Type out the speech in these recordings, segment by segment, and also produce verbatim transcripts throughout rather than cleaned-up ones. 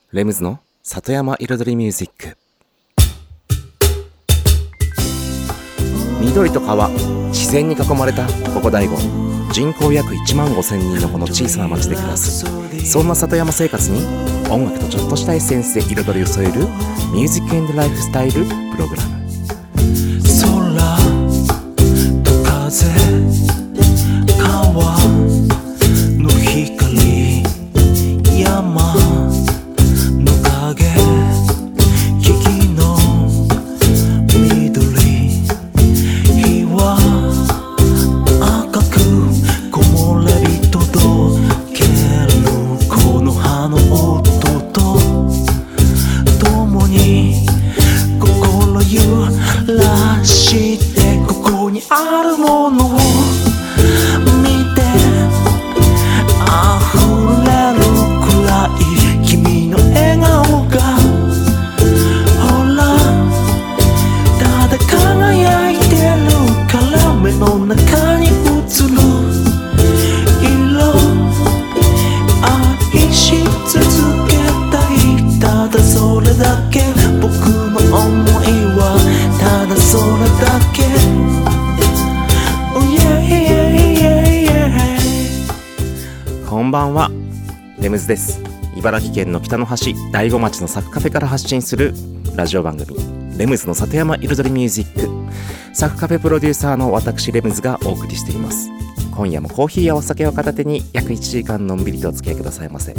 レムズの里山彩りミュージック。緑と川、自然に囲まれたここ大子、人口約いちまんごせんにんのこの小さな町で暮らす、そんな里山生活に音楽とちょっとしたエッセンスで彩りを添えるミュージック&ライフスタイルプログラム。 空と風、川の光、山の影、木々の緑、日は赤く木漏れ日届けるこの葉の音と共に心揺らしてここにあるものを見て溢れるくらい君の笑顔がほらただ輝いてるから目の中に映る色愛し続けたい、ただそれだけ僕の思いはただそれだけ、oh yeah, yeah, yeah, yeah. こんばんは、レムズです。茨城県の北の端大子町のサクカフェから発信するラジオ番組レムズの里山彩りミュージック。サクカフェプロデューサーの私レムズがお送りしています。今夜もコーヒーやお酒を片手に約いちじかんのんびりとお付き合いくださいませ。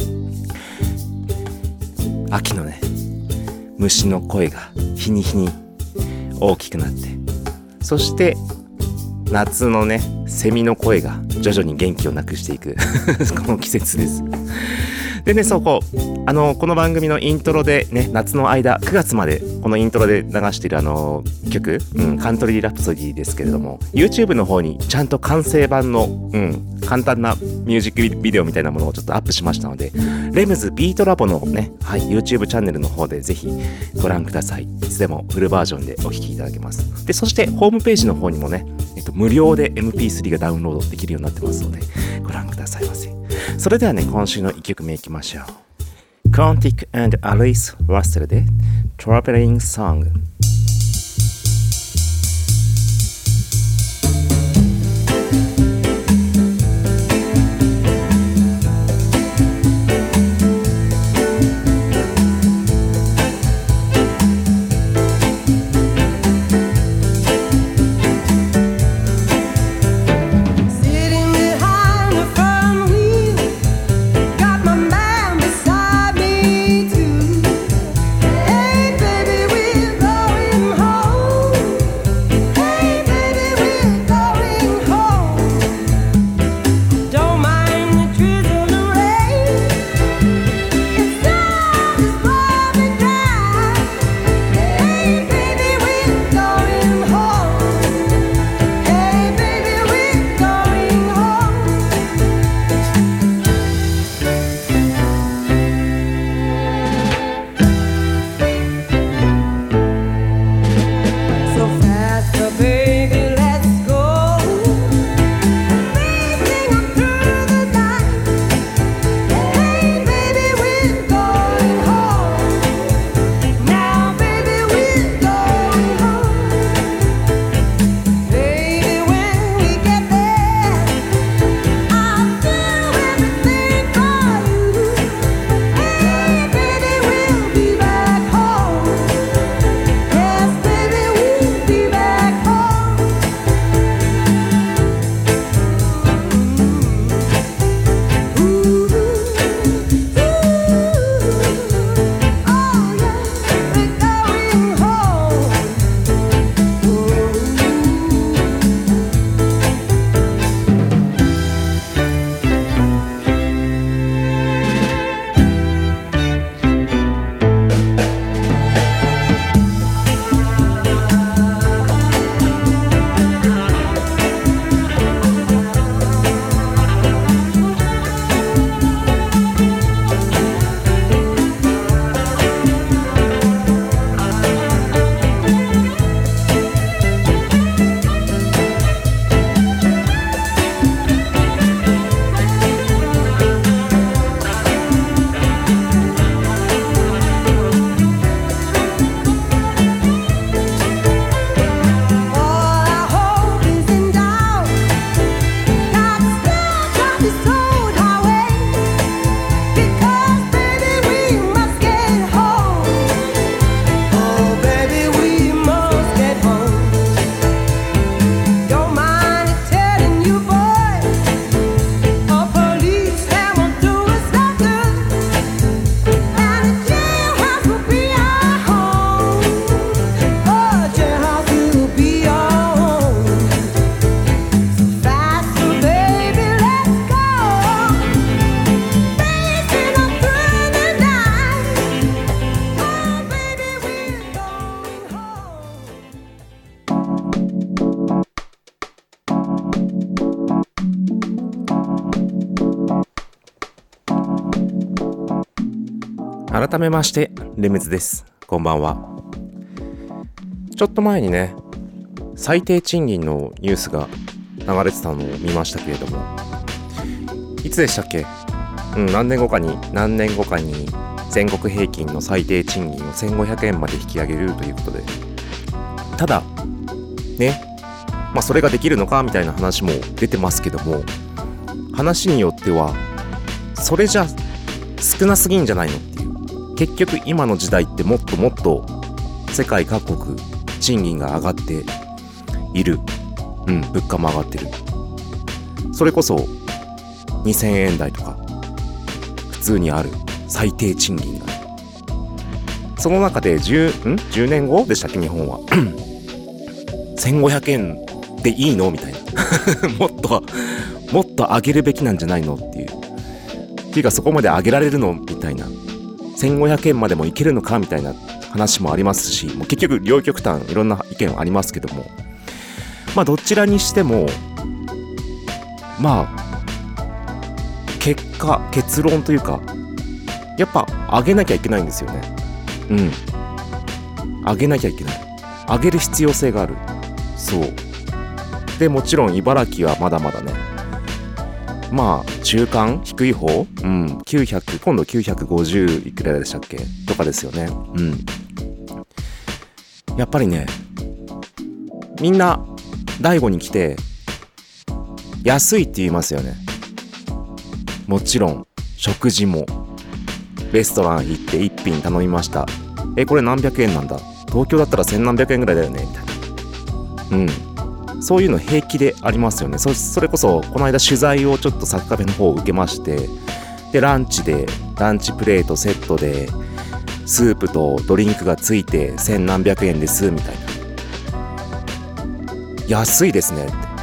秋のね、虫の声が日に日に大きくなって、そして夏のね、セミの声が徐々に元気をなくしていくこの季節です。でね、そうこうあのこの番組のイントロでね、夏の間くがつまでこのイントロで流しているあの曲、うん、カントリーラプソディですけれども、 YouTube の方にちゃんと完成版の、うん、簡単なミュージックビデオみたいなものをちょっとアップしましたので、レムズビートラボのね、はい、YouTube チャンネルの方でぜひご覧ください。いつでもフルバージョンでお聴きいただけます。で、そしてホームページの方にもね、えっと、無料で エムピースリー がダウンロードできるようになってますのでご覧くださいませ。それではね、今週のいっきょくめいきましょう。Quantic and Alice Russell で Traveling Song。 Hey baby, with all 改めましてレムズです。こんばんは。ちょっと前にね、最低賃金のニュースが流れてたのを見ましたけれども、いつでしたっけ？うん、何年後かに何年後かに全国平均の最低賃金をせんごひゃくえんまで引き上げるということで、ただね、まあそれができるのかみたいな話も出てますけども、話によってはそれじゃ少なすぎんじゃないのっていう。結局今の時代ってもっともっと世界各国賃金が上がっている。うん、物価も上がってる。それこそにせんえん台とか普通にある最低賃金が、その中で 10, んじゅうねんごでしたっけ、日本はせんごひゃくえんでいいのみたいなもっともっと上げるべきなんじゃないのっていう、っていうかそこまで上げられるのみたいな、せんごひゃくえんまでもいけるのかみたいな話もありますし、もう結局両極端いろんな意見はありますけども、まあどちらにしてもまあ結果結論というか、やっぱ上げなきゃいけないんですよね。うん上げなきゃいけない、上げる必要性がある。そうで、もちろん茨城はまだまだね、まあ中間低い方、うんきゅうひゃく、今度きゅうひゃくごじゅういくらでしたっけとかですよね。うんやっぱりね、みんな大悟に来て安いって言いますよね。もちろん食事もレストラン行って一品頼みました、えこれ何百円なんだ、東京だったら千何百円ぐらいだよねみたいな。うんそういうの平気でありますよね。 そ, それこそこの間取材をちょっとサッカフェの方を受けまして、でランチでランチプレートセットでスープとドリンクがついて千何百円ですみたいな。安いですねって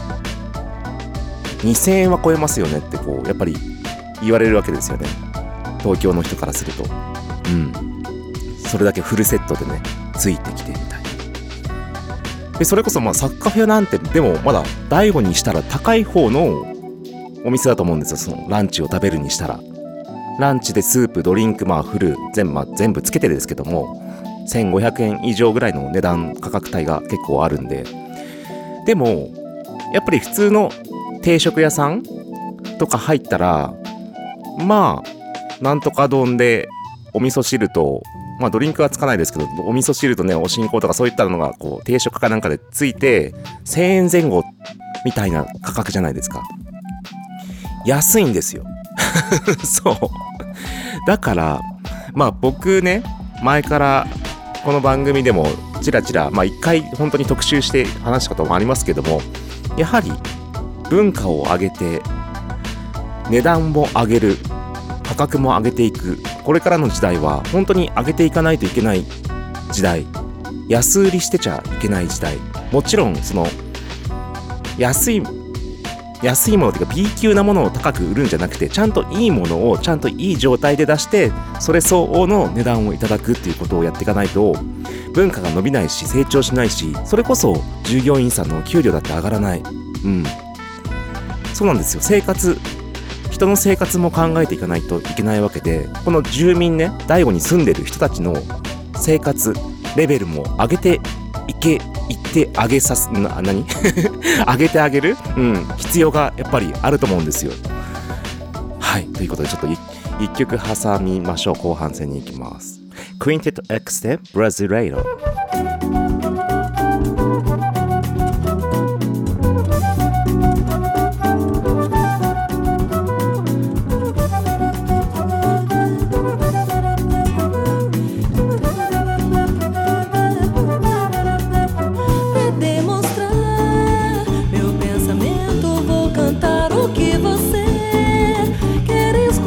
、にせんえんは超えますよねってこうやっぱり言われるわけですよね、東京の人からすると。うんそれだけフルセットでねついてきてみたいな。でそれこそまあサッカフェなんてでもまだ大悟にしたら高い方のお店だと思うんですよ。そのランチを食べるにしたら、ランチでスープドリンクまあフル全部、まあ、全部つけてですけどもせんごひゃくえん以上ぐらいの値段価格帯が結構あるんで、でもやっぱり普通の定食屋さんとか入ったら、まあなんとか丼でお味噌汁と、まあドリンクはつかないですけど、お味噌汁とねお新香とかそういったのがこう定食かなんかでついてせんえんぜん後みたいな価格じゃないですか。安いんですよそうだからまあ僕ね、前からこの番組でもちらちらまあ一回本当に特集して話したこともありますけども、やはり文化を上げて値段も上げる、価格も上げていく、これからの時代は本当に上げていかないといけない時代、安売りしてちゃいけない時代。もちろんその安い安いものというか B 級なものを高く売るんじゃなくて、ちゃんといいものをちゃんといい状態で出してそれ相応の値段をいただくっていうことをやっていかないと文化が伸びないし成長しないし、それこそ従業員さんの給料だって上がらない。うんそうなんですよ。生活人の生活も考えていかないといけないわけで、この住民ね、大悟に住んでる人たちの生活レベルも上げていけいってあげさすな何上げてあげる、うん、必要がやっぱりあると思うんですよ。はいということでちょっと一曲挟みましょう。後半戦に行きます。クインテット X でブラジレイロ。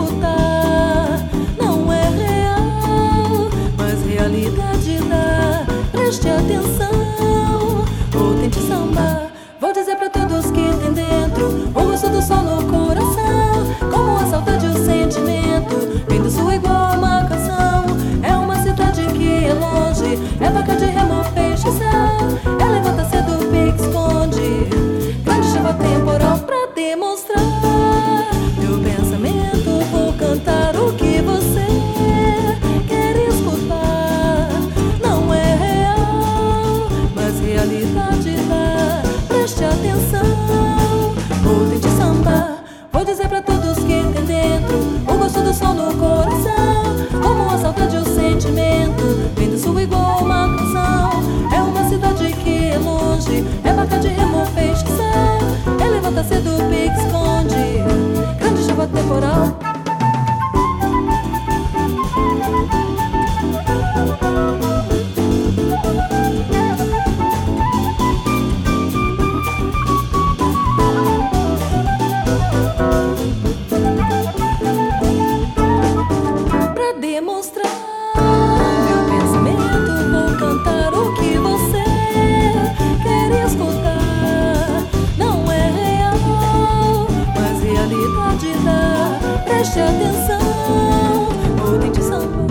Realidade da Meu pensamento vou cantar o que você quer escutar. Não é real, mas realidade dá. Preste atenção, ou tente sambar.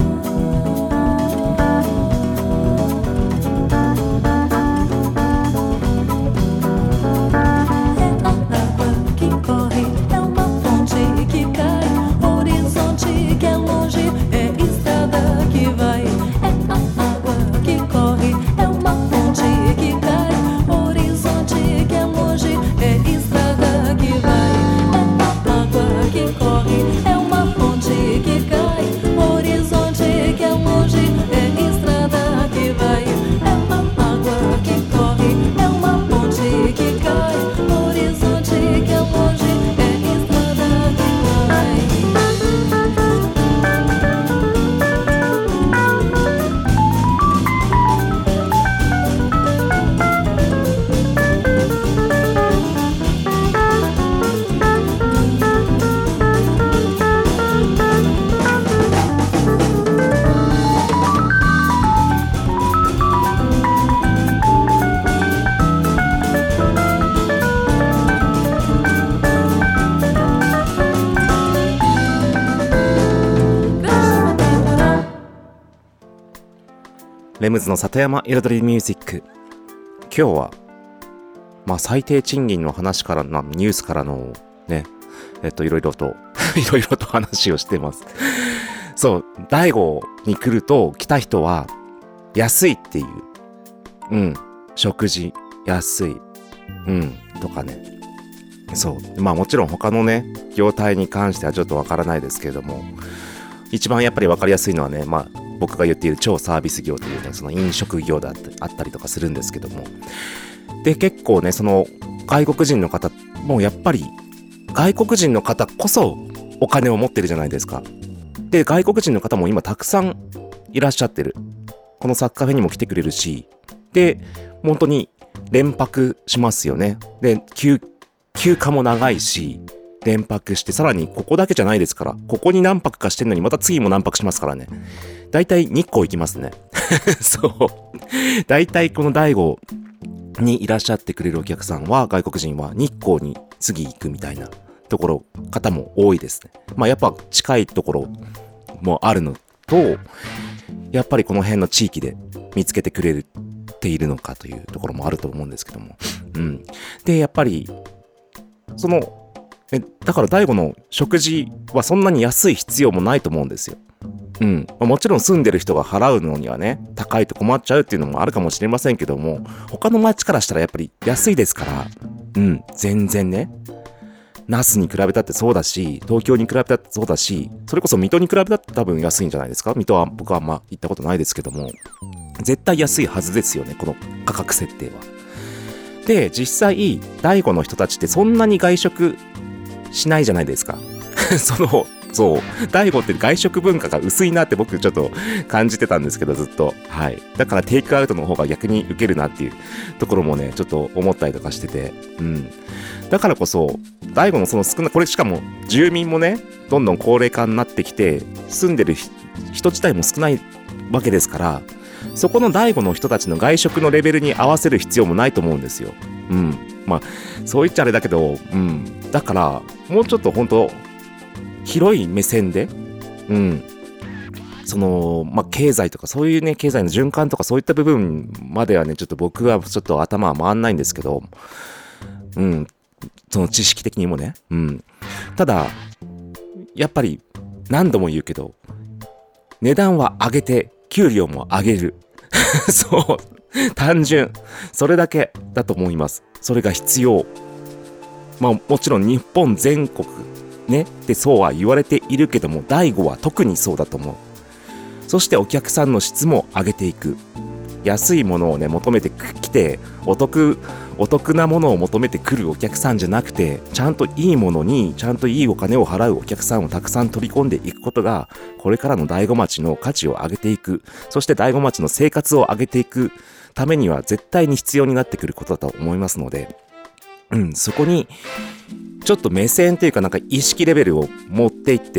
レムズの里山彩りミュージック。今日はまあ最低賃金の話からのニュースからのねえっといろいろといろいろと話をしてます。そう、大悟に来ると来た人は安いっていう、うん食事安い、うんとかね。そうまあもちろん他のね業態に関してはちょっとわからないですけれども、一番やっぱりわかりやすいのはね、まあ僕が言っている超サービス業というね、その飲食業だってあったりとかするんですけども、で結構ねその外国人の方もやっぱり外国人の方こそお金を持ってるじゃないですか。で外国人の方も今たくさんいらっしゃってる。このサッカーフェにも来てくれるし、で本当に連泊しますよね。で休休暇も長いし連泊して、さらにここだけじゃないですから、ここに何泊かしてんのにまた次も何泊しますからね。だいたい日光行きますね。そうだいたいこの大悟にいらっしゃってくれるお客さんは、外国人は日光に次行くみたいなところ方も多いですね。まあやっぱ近いところもあるのと、やっぱりこの辺の地域で見つけてくれているのかというところもあると思うんですけども、うんでやっぱりそのえだから大悟の食事はそんなに安い必要もないと思うんですよ。うん、もちろん住んでる人が払うのにはね高いと困っちゃうっていうのもあるかもしれませんけども、他の町からしたらやっぱり安いですから、うん全然ね、那須に比べたってそうだし、東京に比べたってそうだし、それこそ水戸に比べたって多分安いんじゃないですか。水戸は僕はあんま行ったことないですけども、絶対安いはずですよね、この価格設定は。で実際大悟の人たちってそんなに外食しないじゃないですか。そのそう大悟って外食文化が薄いなって僕ちょっと感じてたんですけど、ずっと。はいだからテイクアウトの方が逆に受けるなっていうところもねちょっと思ったりとかしてて、うんだからこそ大悟のその少なこれしかも住民もねどんどん高齢化になってきて、住んでる人自体も少ないわけですから、そこの大悟の人たちの外食のレベルに合わせる必要もないと思うんですよ。うんまあそう言っちゃあれだけど、うんだからもうちょっと本当広い目線で、うんそのまあ経済とかそういうね経済の循環とかそういった部分まではねちょっと僕はちょっと頭は回んないんですけど、うんその知識的にもね、うんただやっぱり何度も言うけど値段は上げて給料も上げるそう単純それだけだと思います。それが必要。まあもちろん日本全国ねってそうは言われているけども、大悟は特にそうだと思う。そしてお客さんの質も上げていく。安いものをね求めてきて、お得お得なものを求めてくるお客さんじゃなくて、ちゃんといいものにちゃんといいお金を払うお客さんをたくさん取り込んでいくことが、これからの大子町の価値を上げていく、そして大子町の生活を上げていくためには絶対に必要になってくることだと思いますので、うんそこにちょっと目線というかなんか意識レベルを持っていって、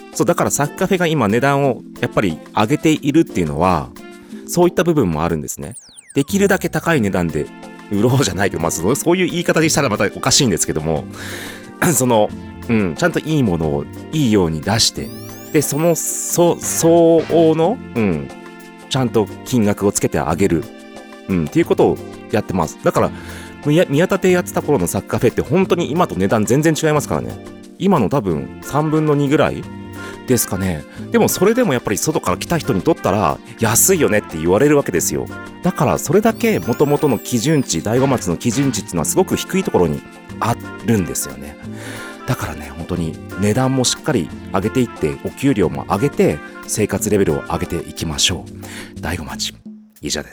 そうだからサクカフェが今値段をやっぱり上げているっていうのはそういった部分もあるんですね。できるだけ高い値段で売ろうじゃないけど、まあ、そうそういう言い方にしたらまたおかしいんですけどもその、うん、ちゃんといいものをいいように出して、でそのそ相応の、うん、ちゃんと金額をつけてあげる、うん、っていうことをやってます。だから宮田亭やってた頃のサクカフェって本当に今と値段全然違いますからね。今の多分さんぶんのにぐらいですかね。でもそれでもやっぱり外から来た人にとったら安いよねって言われるわけですよ。だからそれだけ元々の基準値、大子町の基準値っていうのはすごく低いところにあるんですよね。だからね、本当に値段もしっかり上げていって、お給料も上げて生活レベルを上げていきましょう。大子町以上です。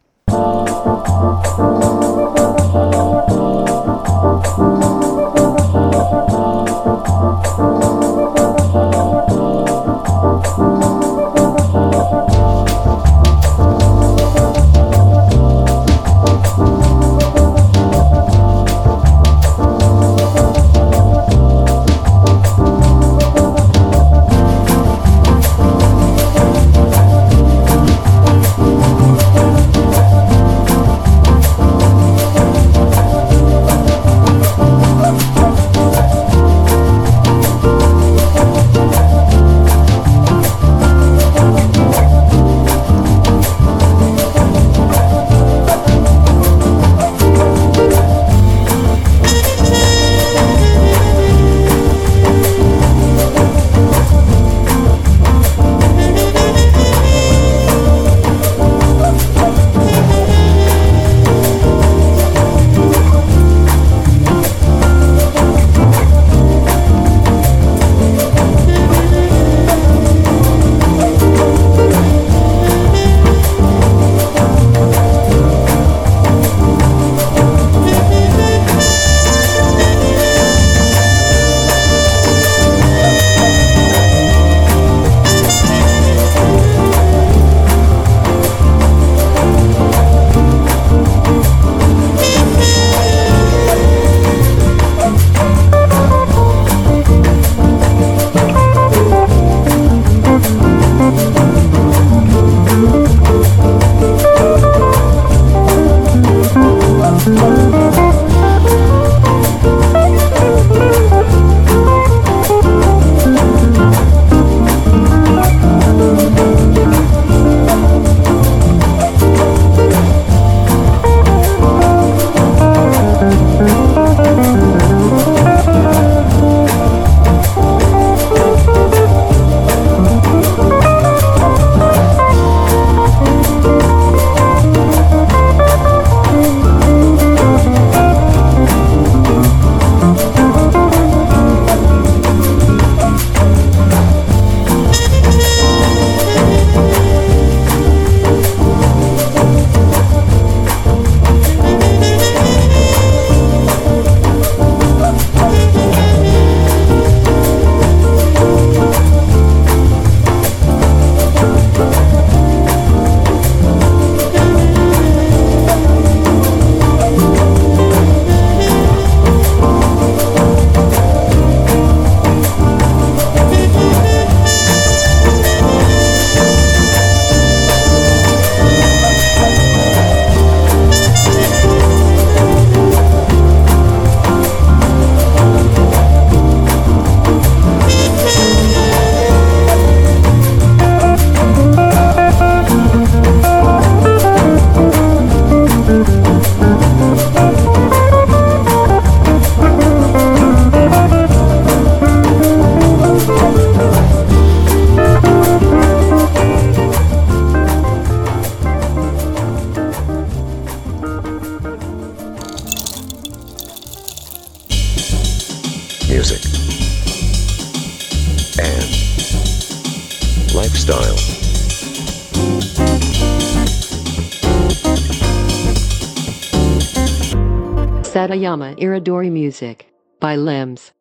music, and lifestyle. Satayama Iridori Music by Limbs.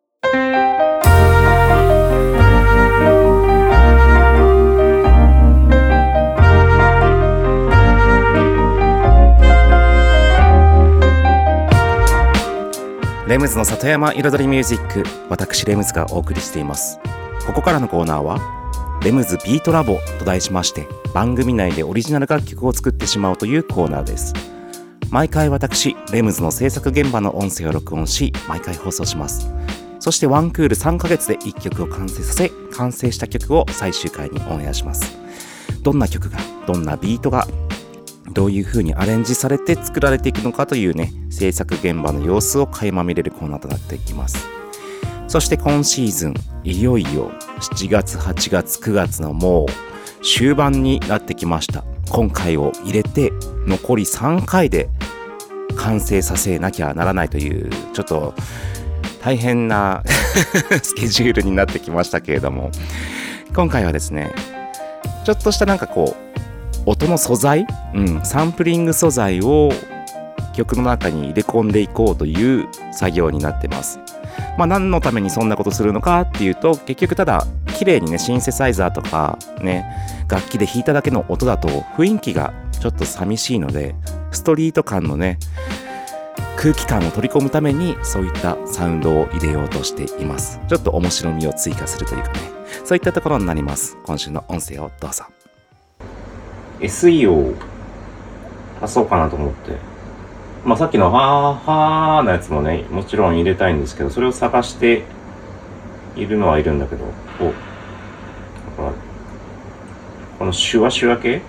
レムズの里山彩りミュージック、私レムズがお送りしています。 ここからのコーナーはレムズビートラボと題しまして、番組内でオリジナル楽曲を作ってしまうというコーナーです。毎回私レムズの制作現場の音声を録音し、毎回放送します。そしてワンクールさんかげつでいっきょくを完成させ、完成した曲を最終回にオンエアします。どんな曲が、どんなビートが、どういう風にアレンジされて作られていくのかというね、制作現場の様子を垣間見れるコーナーとなっていきます。そして今シーズン、いよいよしちがつはちがつくがつのもう終盤になってきました。今回を入れて残りさんかいで完成させなきゃならないという、ちょっと大変なスケジュールになってきましたけれども、今回はですね、ちょっとしたなんかこう音の素材、うん、サンプリング素材を曲の中に入れ込んでいこうという作業になってます。まあ何のためにそんなことするのかっていうと、結局ただ綺麗にねシンセサイザーとかね楽器で弾いただけの音だと雰囲気がちょっと寂しいので、ストリート感のね空気感を取り込むためにそういったサウンドを入れようとしています。ちょっと面白みを追加するというかね、そういったところになります。今週の音声をどうぞ。 エスイー を足そうかなと思って、まあさっきのはーはーのやつもねもちろん入れたいんですけど、それを探しているのはいるんだけど、おだからこのシュワシュワ系、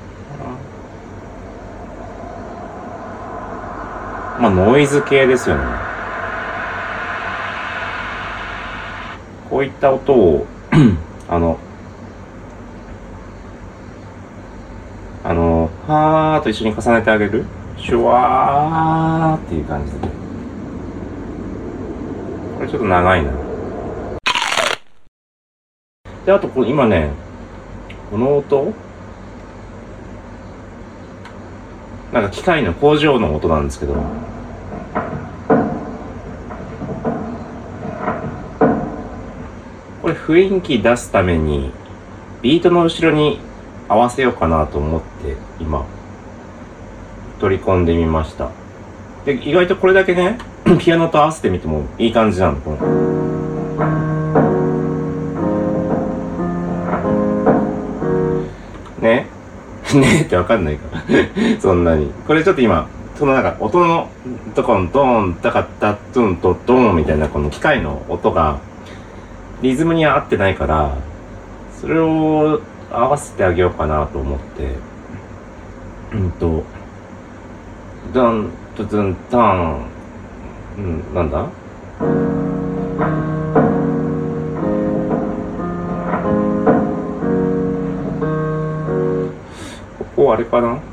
まあノイズ系ですよね。こういった音をあのあのはーと一緒に重ねてあげる、シュワーっていう感じで、これちょっと長いな。で、あとこれ今ね、この音なんか機械の工場の音なんですけど、これ雰囲気出すためにビートの後ろに合わせようかなと思って今取り込んでみました。で、意外とこれだけねピアノと合わせてみてもいい感じなの。このねねってわかんないからそんなに。これちょっと今そのなんか音のとこのドーンタカタトゥンとドーンみたいなこの機械の音がリズムに合ってないから、それを合わせてあげようかなと思って、うんとドントゥンタン、うん、なんだここあれかな。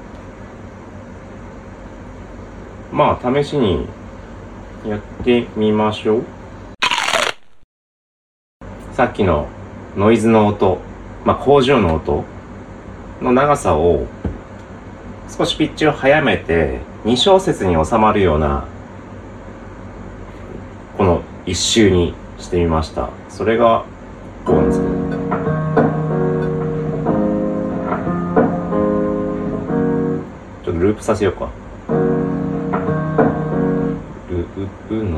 まあ試しにやってみましょう。さっきのノイズの音、まあ工場の音の長さを少しピッチを速めてに小節に収まるようなこの一周にしてみました。それがこうなんですけど、ちょっとループさせようか。ループのうん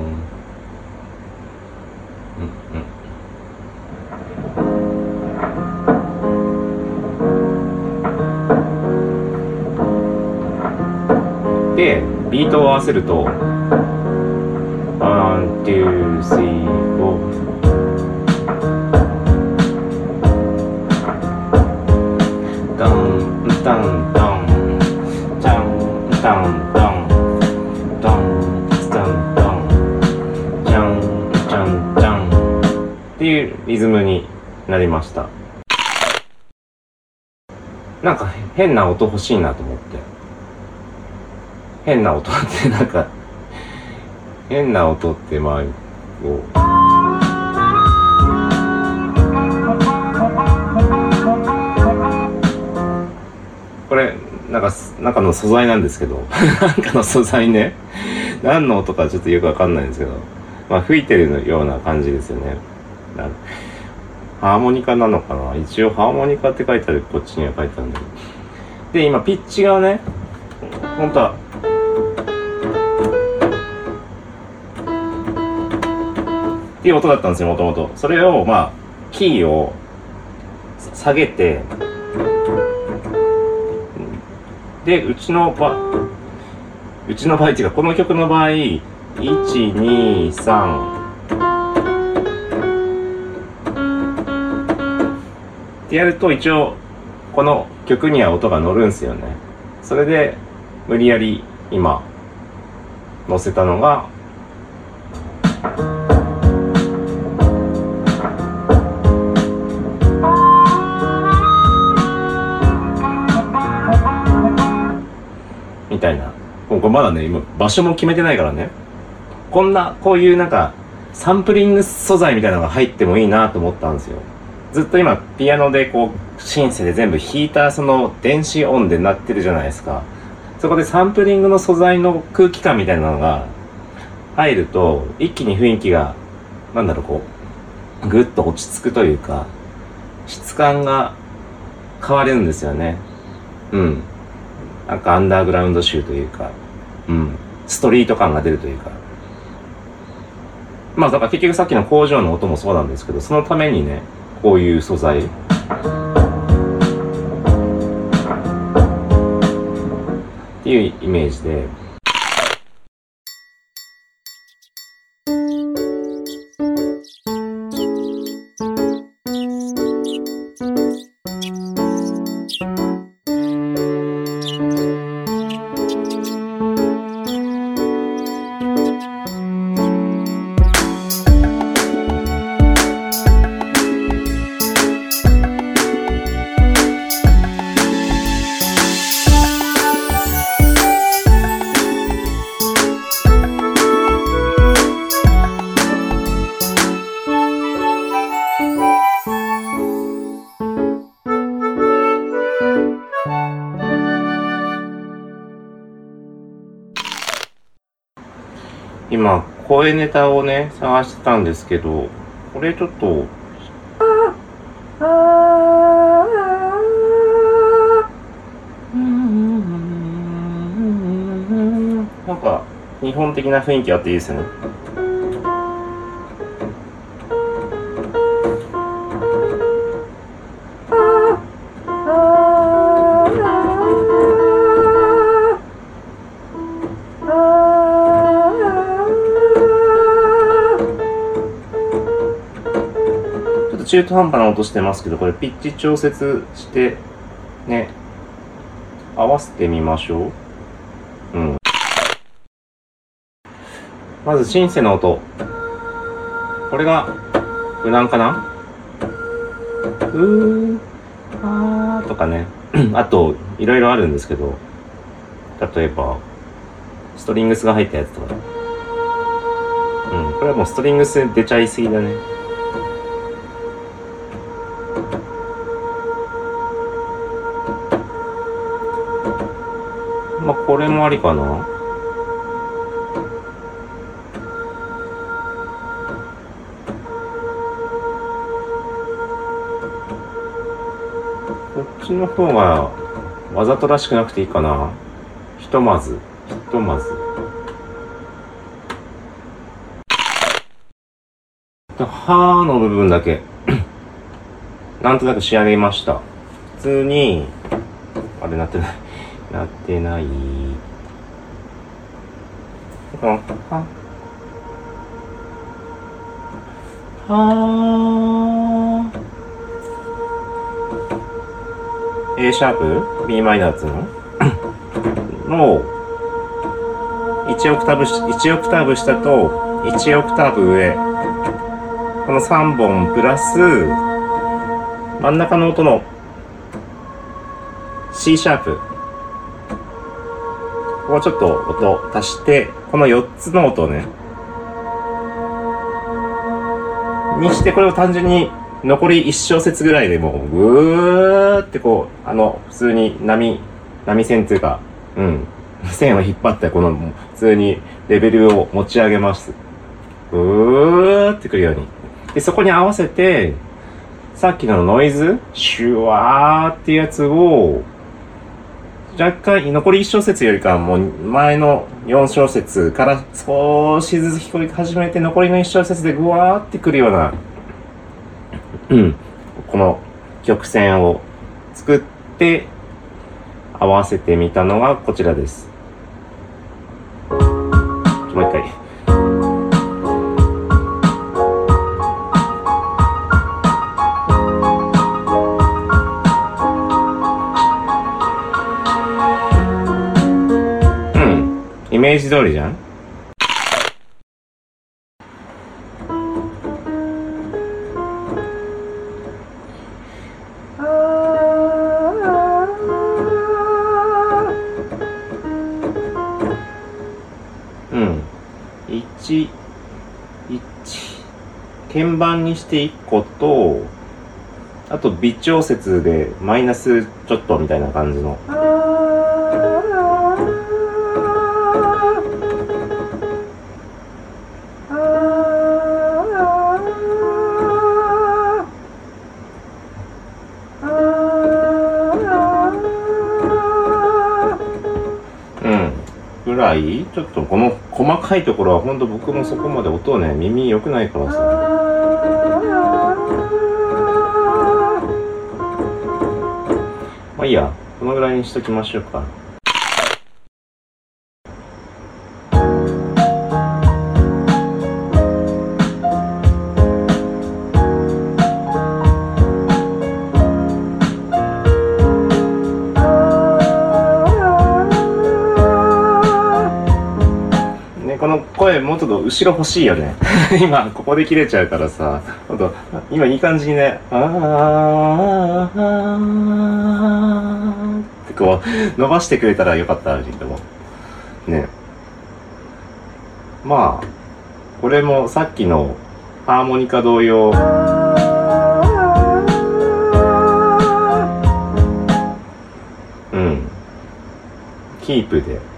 うんで、ビートを合わせるとワン、ツー、スリー、フォーダンダンダンジャンダンダンダンダンダンジャンジャンジャンっていうリズムになりました。なんか変な音欲しいなと思って、変な音ってなんか変な音ってまあこうこれなんか中の素材なんですけどなんかの素材ね、何の音かちょっとよくわかんないんですけど、まあ吹いてるような感じですよね。なんハーモニカなのかな、一応ハーモニカって書いてある、こっちには書いてあるんだけど、で今ピッチがね本当はっていう音だったんですよ、もともと。それをまあキーを下げて、でうちの場うちの場合っていうかこの曲の場合いちにさんってやると一応この曲には音が乗るんですよね。それで無理やり今乗せたのがみたいな。これまだね今場所も決めてないからね、こんなこういうなんかサンプリング素材みたいなのが入ってもいいなと思ったんですよ。ずっと今ピアノでこうシンセで全部弾いたその電子音でなってるじゃないですか。そこでサンプリングの素材の空気感みたいなのが入ると一気に雰囲気がなんだろうこうぐっと落ち着くというか質感が変わるんですよね。うんなんかアンダーグラウンド集というか、うん、ストリート感が出るというか、まあだから結局さっきの工場の音もそうなんですけど、そのためにねこういう素材っていうイメージで。今声ネタをね探してたんですけど、これちょっとなんか日本的な雰囲気あっていいですね。中途半端な音してますけど、これピッチ調節してね合わせてみましょう。うんまずシンセの音、これが無難かな。うーあーとかねあといろいろあるんですけど、例えばストリングスが入ったやつとか、うんこれはもうストリングス出ちゃいすぎだね。まあこれもありかな。こっちの方がわざとらしくなくていいかな。ひとまずひとまずはーの部分だけなんとなく仕上げました。普通にあれなってないなってない。ははー A シャープ B マイナーつののいちオクターブいちオクターブ下といちオクターブ上、このさんぼんプラス真ん中の音の C シャープ、ここちょっと音足して、このよっつの音をねにして、これを単純に残りいち小節ぐらいでもうぐーってこうあの普通に波波線っていうか、うん線を引っ張ってこの普通にレベルを持ち上げます。ぐーってくるように。でそこに合わせてさっきのノイズシュワーっていうやつを若干残りいち小節よりかもう前のよん小節から少しずつ聞こえ始めて、残りのいち小節でぐわーってくるようなうん、この曲線を作って合わせてみたのがこちらです。もう一回。うん、イメージ通りじゃん。いち、いち鍵盤にしていっこと、あと微調節でマイナスちょっとみたいな感じの。ぐらいちょっとこの細かいところは本当僕もそこまで音ね耳良くないからさ。まあいいや、このぐらいにしときましょうか。この声もうちょっと後ろ欲しいよね今ここで切れちゃうからさ、ほんと今いい感じにね、あーってこう伸ばしてくれたらよかったけどね。まあこれもさっきのハーモニカ同様、うんキープで。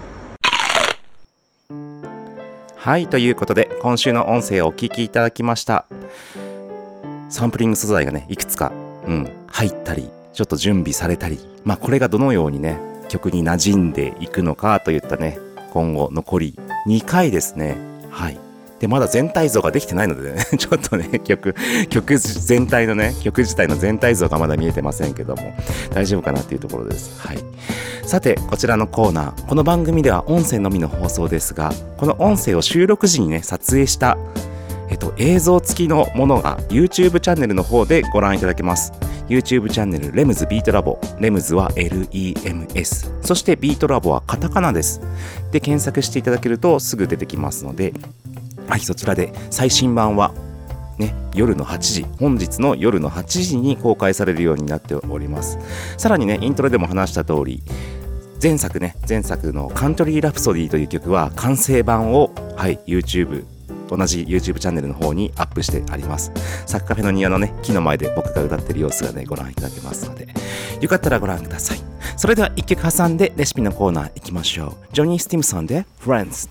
はい、ということで今週の音声をお聞きいただきました。サンプリング素材がねいくつか、うん、入ったりちょっと準備されたり、まあこれがどのようにね曲に馴染んでいくのかといったね、今後残りにかいですね。はい。でまだ全体像ができてないのでねちょっとね曲曲全体のね曲自体の全体像がまだ見えてませんけども大丈夫かなっていうところです。はい。さてこちらのコーナー、この番組では音声のみの放送ですが、この音声を収録時にね撮影したえっと映像付きのものが YouTube チャンネルの方でご覧いただけます。 YouTube チャンネルレムズビートラボ、レムズは エルイーエムエス、 そしてビートラボはカタカナです。で検索していただけるとすぐ出てきますので、はい、そちらで最新版はね、夜のはちじ、本日の夜のはちじに公開されるようになっております。さらにねイントロでも話した通り、前作ね前作のカントリーラプソディという曲は完成版を、はい、YouTube 同じ YouTube チャンネルの方にアップしてあります。サッカフェの庭のね木の前で僕が歌ってる様子がねご覧いただけますので、よかったらご覧ください。それではいっきょく挟んでレシピのコーナー行きましょう。ジョニー・スティムソンで Friends。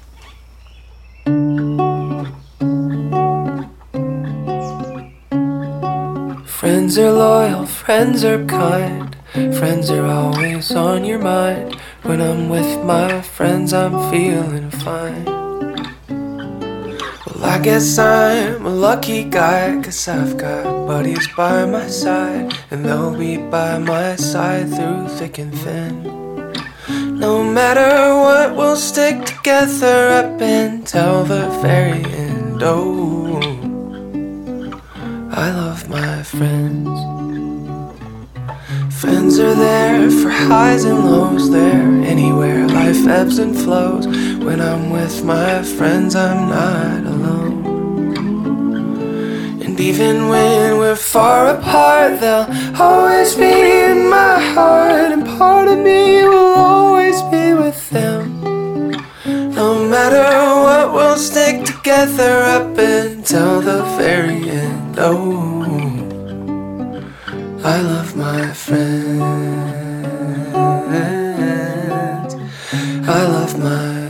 Friends are loyal, friends are kind. Friends are always on your mind. When I'm with my friends, I'm feeling fine. Well, I guess I'm a lucky guy, 'cause I've got buddies by my side, and they'll be by my side through thick and thin. No matter what, we'll stick together up until the very end. Oh, I love my friends. Friends are there for highs and lows. They're anywhere life ebbs and flows. When I'm with my friends, I'm not alone. And even when we're far apart, they'll always be in my heart. And part of me will always be with them. No matter what, we'll stick together up until the very end. Oh, I love my friends. I love my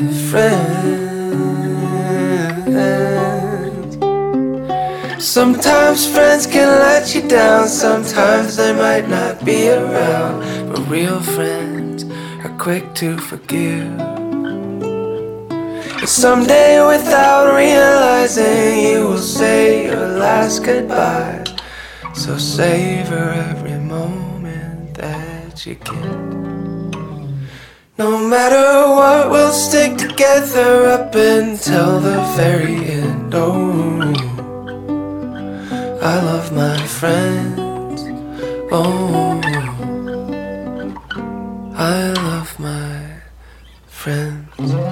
friends. Sometimes friends can let you down. Sometimes they might not be around. But real friends are quick to forgive. And someday without realizing, you will say your last goodbye. So savor every moment that you get. No matter what, we'll stick together up until the very end. Oh, I love my friends. Oh, I love my friends.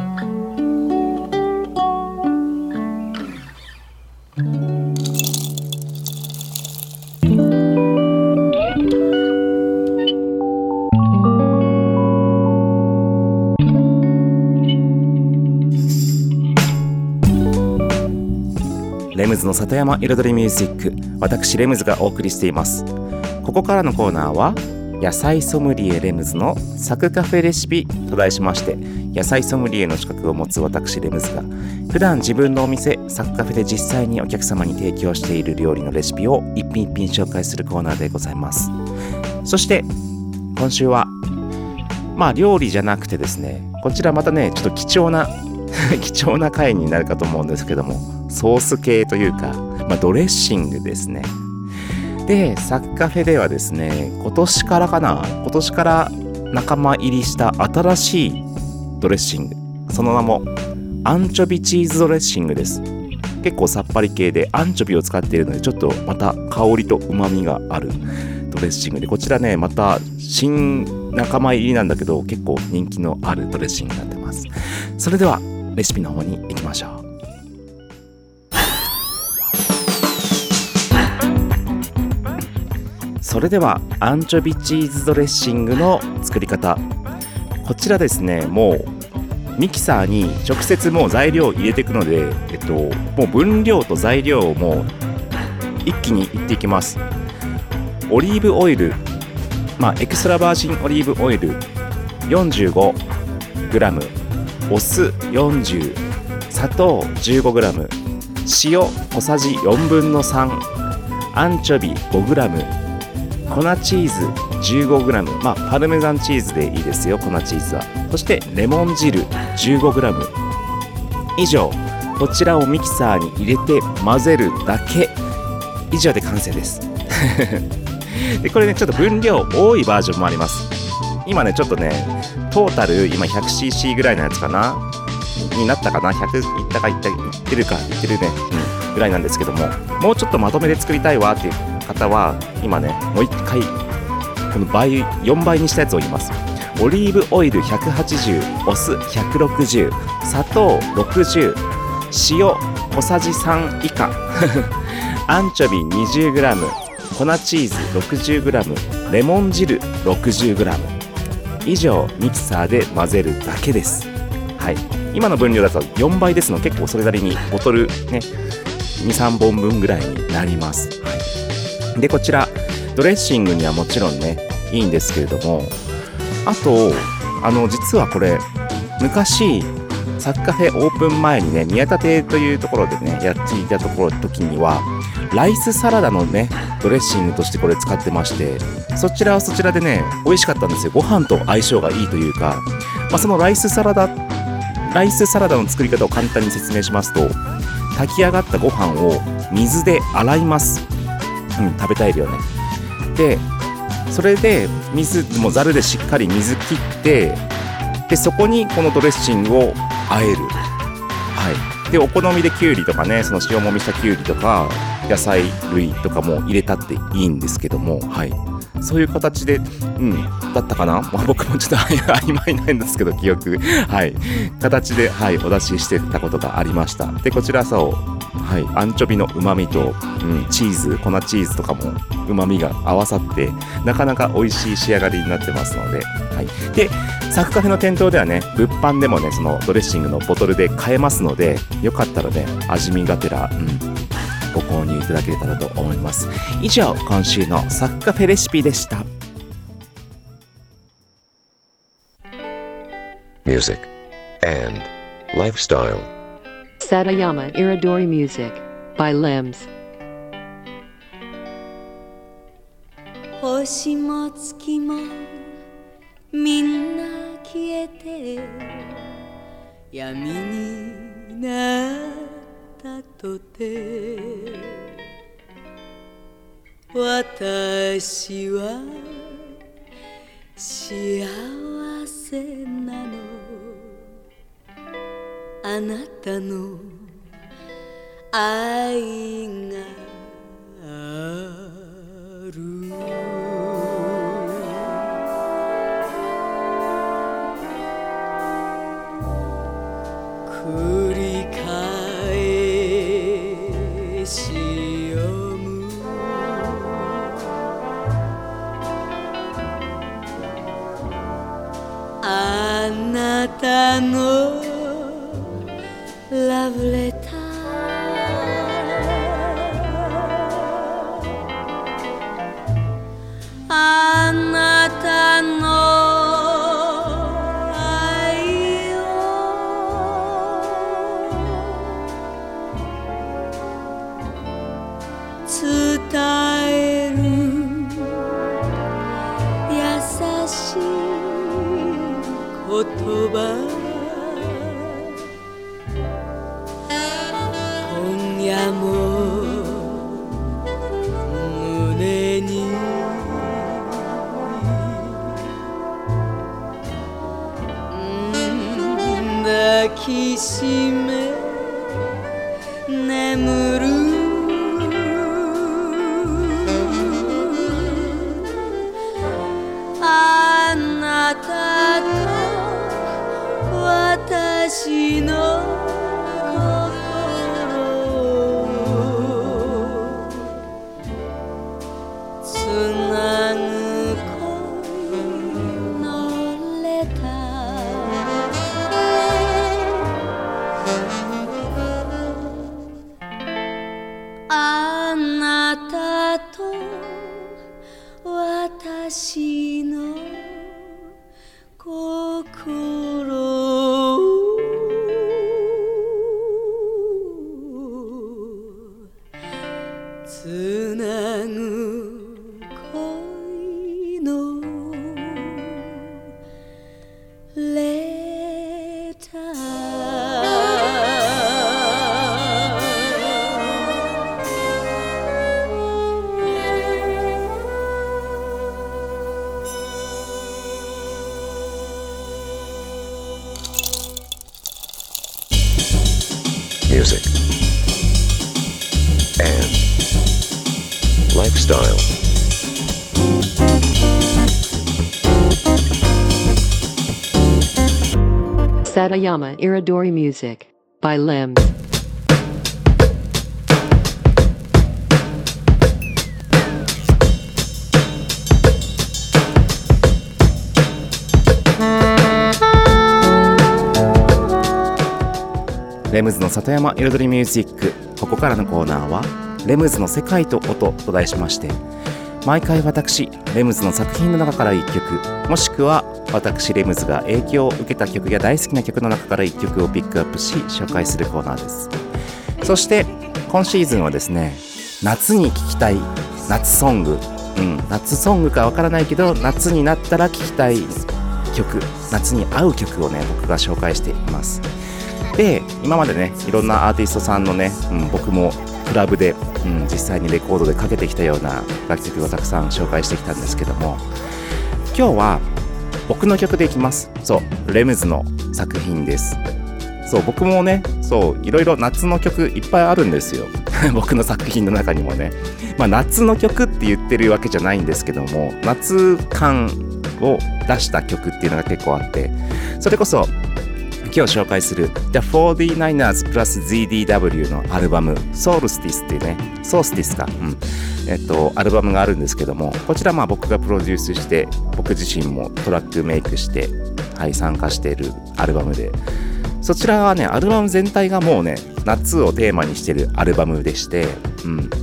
レムズの里山彩りミュージック、私レムズがお送りしています。ここからのコーナーは野菜ソムリエレムズのサクカフェレシピと題しまして、野菜ソムリエの資格を持つ私レムズが普段自分のお店サクカフェで実際にお客様に提供している料理のレシピを一品一品紹介するコーナーでございます。そして今週はまあ料理じゃなくてですね、こちらまたねちょっと貴重な貴重な回になるかと思うんですけども、ソース系というか、まあ、ドレッシングですね。でサクカフェではですね、今年からかな今年から仲間入りした新しいドレッシング、その名もアンチョビチーズドレッシングです。結構さっぱり系でアンチョビを使っているので、ちょっとまた香りと旨味があるドレッシングで、こちらねまた新仲間入りなんだけど結構人気のあるドレッシングになってます。それではレシピの方に行きましょう。それではアンチョビチーズドレッシングの作り方、こちらですね、もうミキサーに直接もう材料を入れていくので、えっと、もう分量と材料をもう一気にいっていきます。オリーブオイル、まあエクストラバージンオリーブオイル よんじゅうごグラム、お酢よんじゅう、砂糖 じゅうごグラム、塩小さじよんぶんのさん、アンチョビ ごグラム、粉チーズ じゅうごグラム、まあパルメザンチーズでいいですよ、粉チーズは。そしてレモン汁 じゅうごグラム 以上、こちらをミキサーに入れて混ぜるだけ、以上で完成ですでこれねちょっと分量多いバージョンもあります。今ねちょっとねトータル今 ひゃくシーシー ぐらいのやつかなになったかな、ひゃくいったかいっていってるかいってるね、うん、ぐらいなんですけども、もうちょっとまとめで作りたいわっていう方は今ねもう一回この倍よんばいにしたやつを言います。オリーブオイルひゃくはちじゅう、お酢ひゃくろくじゅう、砂糖ろくじゅう、塩小さじさん以下アンチョビ にじゅうグラム、粉チーズ ろくじゅうグラム、レモン汁 ろくじゅうグラム 以上、ミキサーで混ぜるだけです。はい、今の分量だとよんばいですので結構それなりにボトルね にさんぼんぶんぐらいになります。はい、でこちらドレッシングにはもちろんねいいんですけれども、あとあの実はこれ昔サクカフェオープン前にね宮田亭というところでねやっていたところ時にはライスサラダのねドレッシングとしてこれ使ってまして、そちらはそちらでね美味しかったんですよ。ご飯と相性がいいというか、まあ、そのライスサラダライスサラダの作り方を簡単に説明しますと、炊き上がったご飯を水で洗います。うん、食べたいよね。でそれで水もざるでしっかり水切って、でそこにこのドレッシングを和える。はい。でお好みできゅうりとかね、その塩もみしたきゅうりとか野菜類とかも入れたっていいんですけども、はい。そういう形で、うん、だったかな、まあ、僕もちょっと曖昧なんですけど記憶、はい、形で、はい、お出ししてたことがありました。でこちらそう、はい、アンチョビの旨味と、うん、チーズ粉チーズとかも旨味が合わさってなかなか美味しい仕上がりになってますので、はい、でサクカフェの店頭ではね物販でもねそのドレッシングのボトルで買えますので、よかったらね味見がてら、うんご購入いただけたらと思います。以上、今週のサクカフェレシピでした。 Music and Lifestyle Satayama Iridori Music by Limbs. 星も月もみんな消えて闇になったとて、 私は幸せなのあなたの愛がある繰り返し読むあなたのラブレターあなたの愛を伝える優しい言葉今夜も胸に抱きしめ眠るあなたと私のつなぐ恋のレターあなたと私の心つなぐ恋のレタ Music and lifestyle. Satayama Iridori Music by Limbs. レムズの里山彩りミュージック。ここからのコーナーはレムズの世界と音と題しまして、毎回私レムズの作品の中からいっきょく、もしくは私レムズが影響を受けた曲や大好きな曲の中からいっきょくをピックアップし紹介するコーナーです。そして今シーズンはですね、夏に聴きたい夏ソング、うん、夏ソングかわからないけど夏になったら聴きたい曲、夏に合う曲をね僕が紹介しています。で今までねいろんなアーティストさんのね、うん、僕もクラブで、うん、実際にレコードでかけてきたような楽曲をたくさん紹介してきたんですけども、今日は僕の曲でいきます。そうレムズの作品です。そう僕もねそういろいろ夏の曲いっぱいあるんですよ僕の作品の中にもね、まあ、夏の曲って言ってるわけじゃないんですけども、夏感を出した曲っていうのが結構あって、それこそ今日紹介する The フォーティーナイナーズ プラス ゼット ダブリュー のアルバム Solstice っていうね、Solstice か、うんえっと、アルバムがあるんですけども、こちらまあ僕がプロデュースして僕自身もトラックメイクして、はい、参加しているアルバムで、そちらはねアルバム全体がもうね夏をテーマにしているアルバムでして、うん、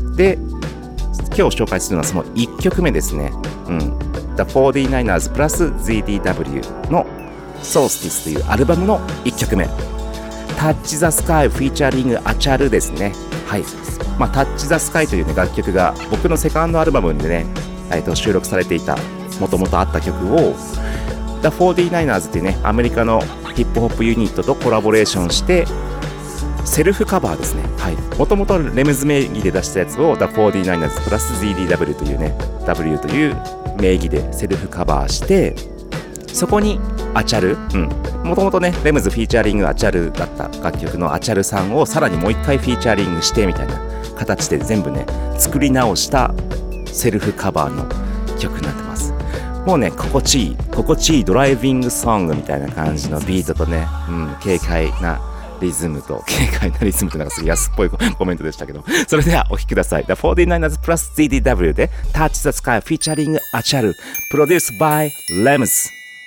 で今日紹介するのはそのいっきょくめですね、うん、The フォーティーナイナーズ プラス ゼット ダブリュー のSolstice というアルバムのいっきょくめ、 Touch the Sky featuring アチャルですね。はい、まあ、Touch the Sky という、ね、楽曲が僕のセカンドアルバムでね、えー、と収録されていたもともとあった曲を The フォーティーナイナーズというねアメリカのヒップホップユニットとコラボレーションしてセルフカバーですね。はい。もともとレムズ名義で出したやつを The フォーティーナイナーズ プラス ゼットディーダブリュー というね W という名義でセルフカバーして、そこにアチャル、うん、もともとねレムズフィーチャリングアチャルだった楽曲のアチャルさんをさらにもう一回フィーチャリングしてみたいな形で全部ね作り直したセルフカバーの曲になってます。もうね心地いい心地いいドライビングソングみたいな感じのビートとね、うん、軽快なリズムと軽快なリズムとなんかすごい安っぽいコメントでしたけど、それではお聴きください。 The フォーティーナイナーズ プラス ゼットディーダブリュー で Touch the Sky フィーチャリングアチャル、プロデュース by レムズ。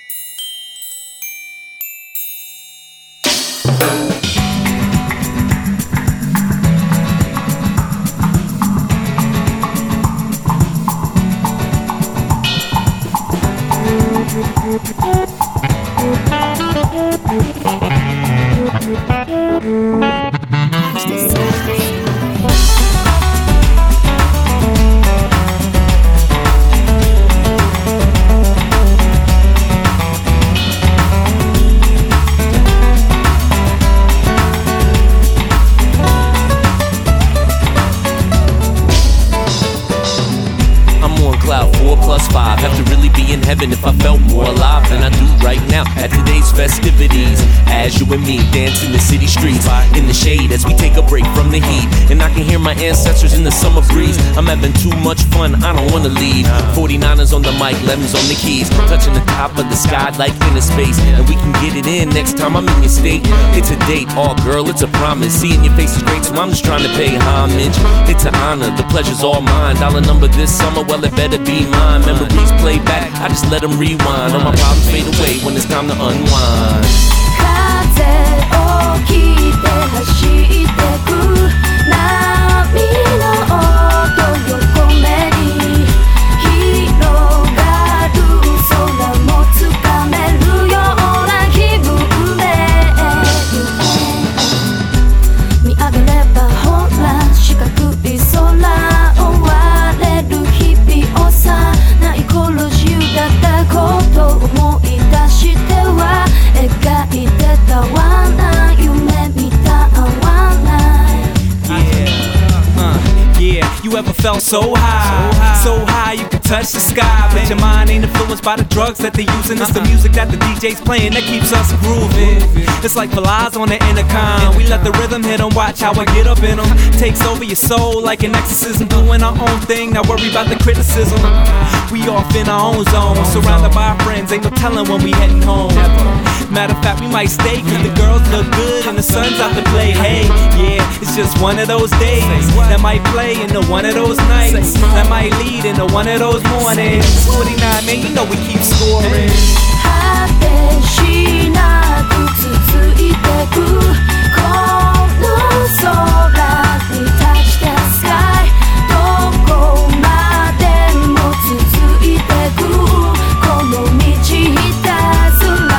If I felt more alive than I do right now at today's festivities, as you and me dance in the city streets in the shade as we take a break from the heat, and I can hear my ancestors in the summer breeze. I'm having too much fun, I don't wanna leave. forty-niners on the mic, lemons on the keys, touching the top of the sky like inner space, and we can get it in next time I'm in your state. It's a date, oh girl, it's a promise. Seeing your face is great, so I'm just trying to pay homage. It's an honor, the pleasure's all mine. Dollar number this summer, well it better be mine. Memories play back, I just let them rewind. All my problems fade away when it's time to unwind. 風を切って走ってく波の音横目に広がる空もつかめるような気分で見上げればほら四角い空追われる日々をさない頃自由だったことを思い出しては描いてたわな夢見たわな Yeah, you ever felt so high, so high you can touch the sky, but your mind ain't influenced by the drugs that they using. It's the music that the D J's playing that keeps us grooving. It's like flies on the intercom. We let the rhythm hit 'em, watch how I get up in 'em. Takes over your soul like an exorcism. Doing our own thing, not worry about the criticism. We off in our own zone, surrounded by our friends, ain't no telling when we heading home. Matter of fact, we might stay, cause the girls look good and the sun's out to play. Hey, yeah, it's just one of those days that might play into one of those nights that might lead into one of those mornings. forty-nine, man, you know we keep scoring. 果てしなく続いてくこの空に Touch the sky どこまでも続いてくこの道ひたすら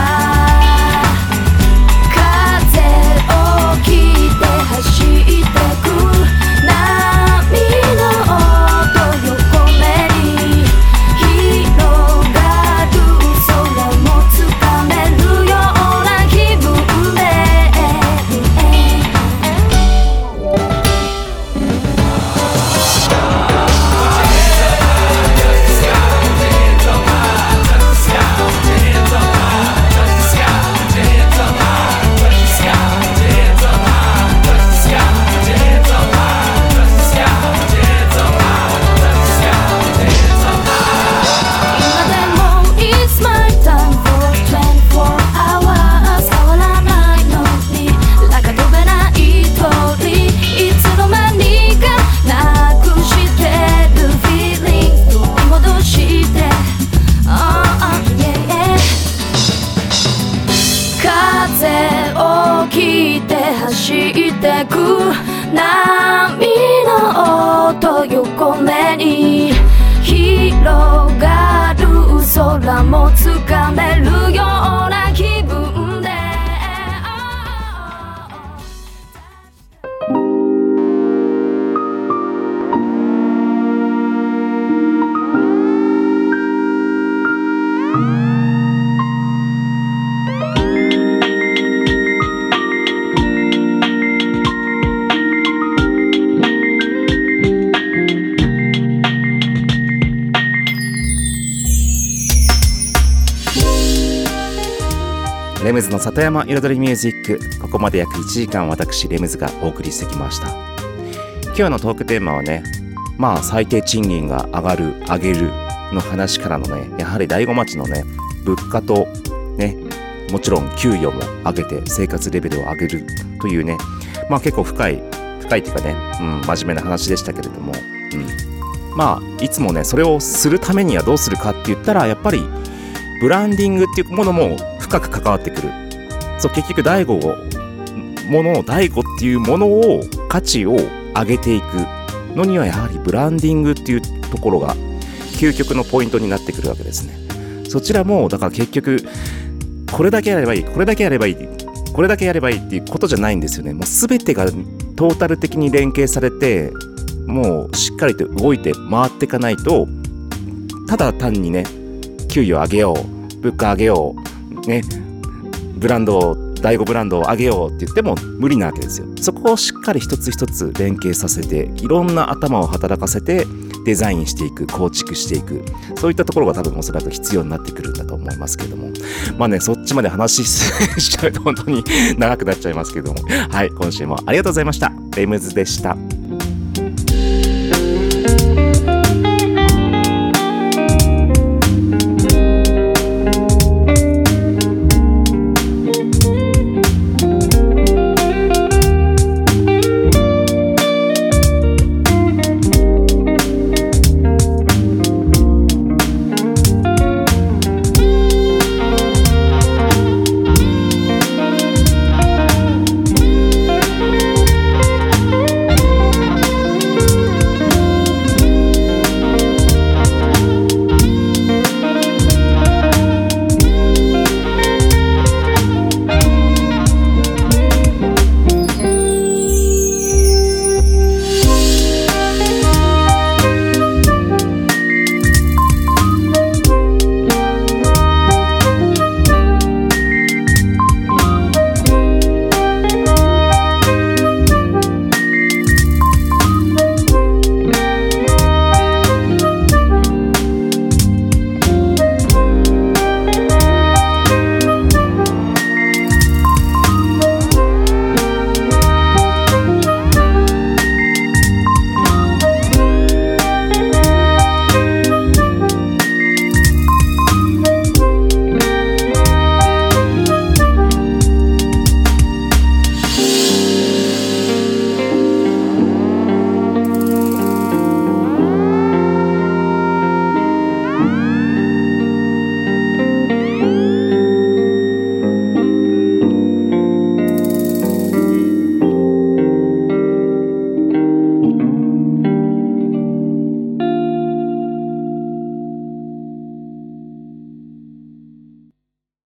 風を切って走ってく波の音横目に広がる空もつかめるような気分で走ってく波の音横目に広がる空もつかめるような気分でレムズの里山彩りミュージック、ここまで約いちじかん私レムズがお送りしてきました。今日のトークテーマはね、まあ最低賃金が上がる上げるの話からのね、やはり大子町のね物価とね、もちろん給与も上げて生活レベルを上げるというね、まあ結構深い深いっていうかね、うん、真面目な話でしたけれども、うん、まあいつもねそれをするためにはどうするかって言ったら、やっぱりブランディングっていうものも深く関わってくる。そう結局大悟をものを大悟っていうものを価値を上げていくのには、やはりブランディングっていうところが究極のポイントになってくるわけですね。そちらもだから結局これだけやればいいこれだけやればいいこれだけやればいいっていうことじゃないんですよね。もう全てがトータル的に連携されて、もうしっかりと動いて回っていかないと、ただ単にね給与上げよう、物価上げようね、ブランドを第五ブランドを上げようって言っても無理なわけですよ。そこをしっかり一つ一つ連携させて、いろんな頭を働かせてデザインしていく、構築していく、そういったところが多分おそらく必要になってくるんだと思いますけれども、まあねそっちまで話しちゃうと本当に長くなっちゃいますけれども、はい、今週もありがとうございました。レムズでした。